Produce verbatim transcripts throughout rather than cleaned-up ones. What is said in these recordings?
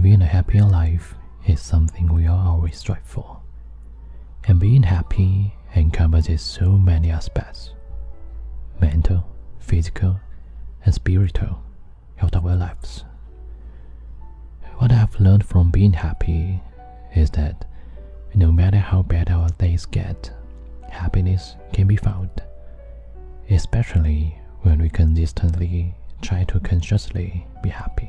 Living a happier life is something we all always strive for, and being happy encompasses so many aspects: mental, physical, and spiritual of our lives. What I have learned from being happy is that no matter how bad our days get, happiness can be found, especially when we consistently try to consciously be happy.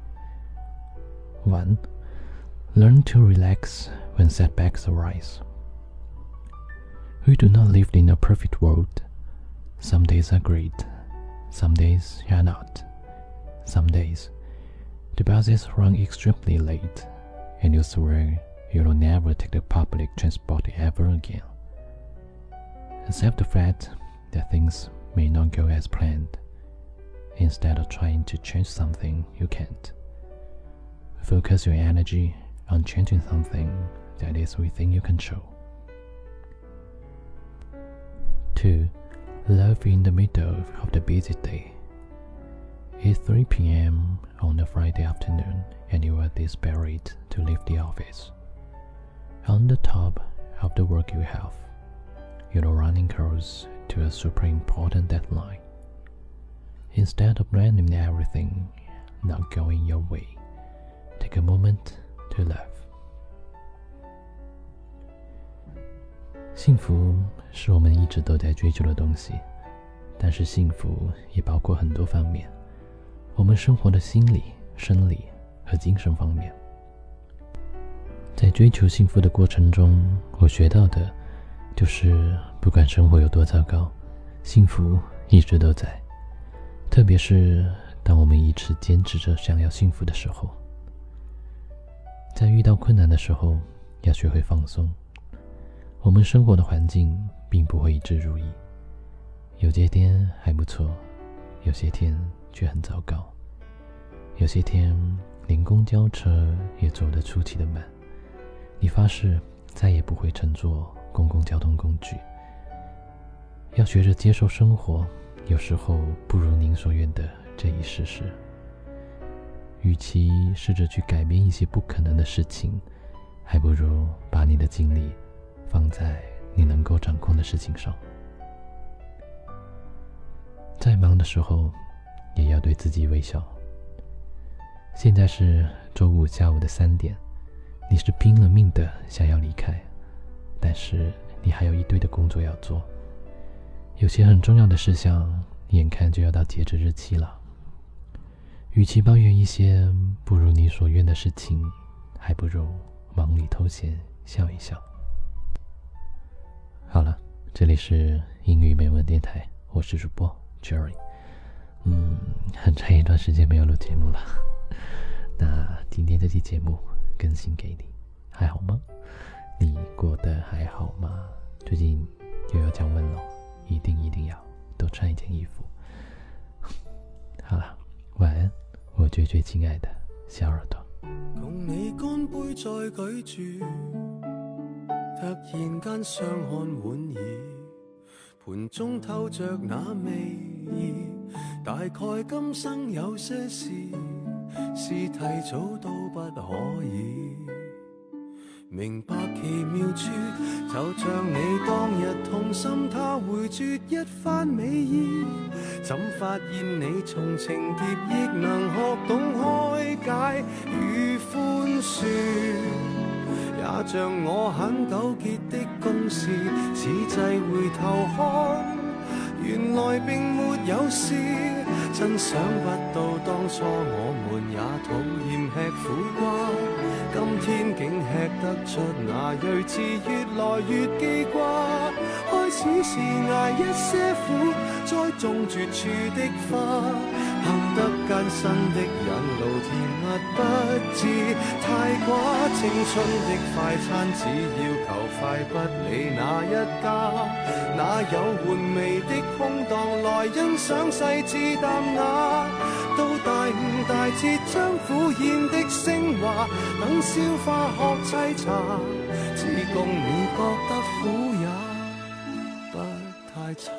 one. Learn to relax when setbacks arise. We do not live in a perfect world. Some days are great, some days are not. Some days, the buses run extremely late, and you swear you'll never take the public transport ever again. Accept the fact that things may not go as planned. Instead of trying to change something you can't, focus your energy on changing something that is within your control. two. Love in the middle of the busy day. It's three p m on a Friday afternoon and you are desperate to leave the office. On the top of the work you have, you're running close to a super important deadline. Instead of blaming everything not going your way, take a moment to love. 幸福是我们一直都在追求的东西，但是幸福也包括很多方面，我们生活的心理、生理和精神方面。在追求幸福的过程中，我学到的就是不管生活有多糟糕，幸福一直都在。特别是当我们一直坚持着想要幸福的时候，在遇到困难的时候，要学会放松。我们生活的环境并不会一直如意，有些天还不错，有些天却很糟糕，有些天连公交车也走得出奇的慢。你发誓再也不会乘坐公共交通工具。要学着接受生活有时候不如您所愿的这一事实。与其试着去改变一些不可能的事情，还不如把你的精力放在你能够掌控的事情上。再忙的时候也要对自己微笑。现在是周五下午的三点，你是拼了命的想要离开，但是你还有一堆的工作要做，有些很重要的事项眼看就要到截止日期了。与其抱怨一些不如你所愿的事情，还不如忙里偷闲笑一笑。好了，这里是英语美文电台，我是主播 Jerry。 嗯，很长一段时间没有录节目了，那今天这期节目更新给你，还好吗？你过得还好吗？最近又要降温了，一定一定要多穿一件衣服。好了，晚安，我最最亲爱的小耳朵。 共你干杯再举住，突然間相看莞爾，盤中透着那味意，大概今生有些事是提早都不可以明白奇妙處，就像你當日痛心他回絕一番美意，怎發現你從情劫亦能學懂開解與寬恕，也像我很糾結的公事，此際回頭看，原來並沒有事。真想不到當初我們也討厭吃苦瓜，今天竟吃得出那睿智，越來越記掛。開始是捱一些苦，栽種絕處的花，行得艱辛的引路，甜蜜不致太寡。青春的快餐只要求快，不理哪一家，哪有玩味的空檔來欣賞細緻淡雅。到大悟大徹將苦宴的升華，等消化學沏茶，只供你覺得苦也不太差。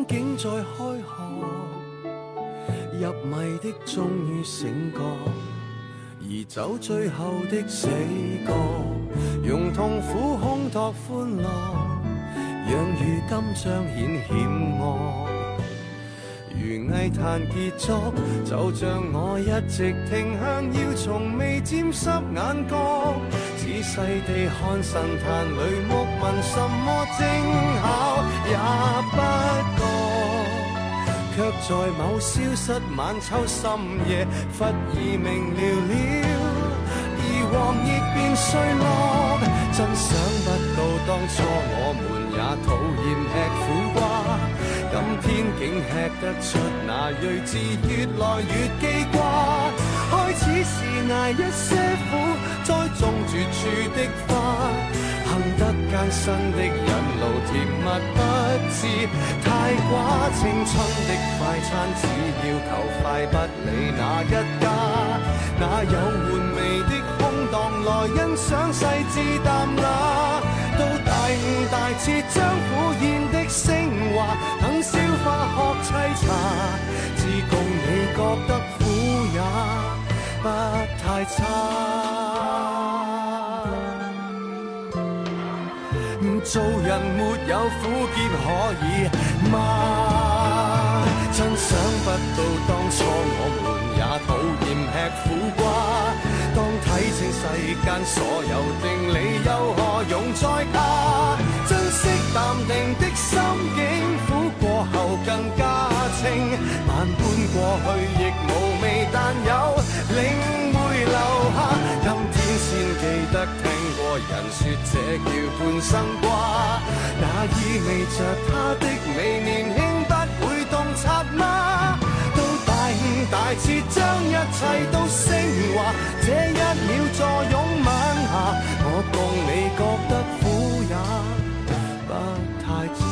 竟在開學，入迷的終於醒覺，而走最後的死角，用痛苦烘托歡樂，讓如今彰顯險惡。如藝壇傑作，就像我一直停向，要從未沾濕眼角，仔細地看神壇裏木紋，什麼精巧也不覺，卻在某消失晚秋深夜，忽而明了了，而黃葉變碎落。真想不到當初我們也討厭吃苦瓜，今天竟吃得出那睿智，越來越記掛。開始是捱一些苦，栽種絕處的花，行得艱辛的引路，甜蜜不知太寡。青春的快餐只要求快，不理哪一家，哪有玩味的空檔來欣賞細緻淡雅。到大悟大徹將苦宴的升華，等消化學沏茶，自共你覺得苦也不太差。做人沒有苦澀可以嗎？真想不到當初我們也討厭吃苦瓜，當睇清世間所有定理，又何用再怕？珍惜淡定的心境，苦過後更加清，萬般過去亦無味，但有領會留下。今天先記得聽過人說這叫半生瓜，那意味着他的美年輕不會洞察嗎？到大悟大徹將一切都升華，這一秒坐擁晚霞，我共你覺得苦也不太差。